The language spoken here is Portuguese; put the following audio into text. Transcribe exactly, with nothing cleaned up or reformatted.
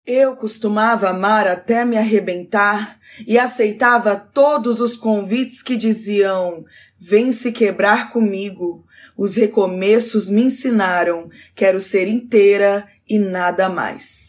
Eu costumava amar até me arrebentar e aceitava todos os convites que diziam: vem se quebrar comigo. Os recomeços me ensinaram, quero ser inteira e nada mais.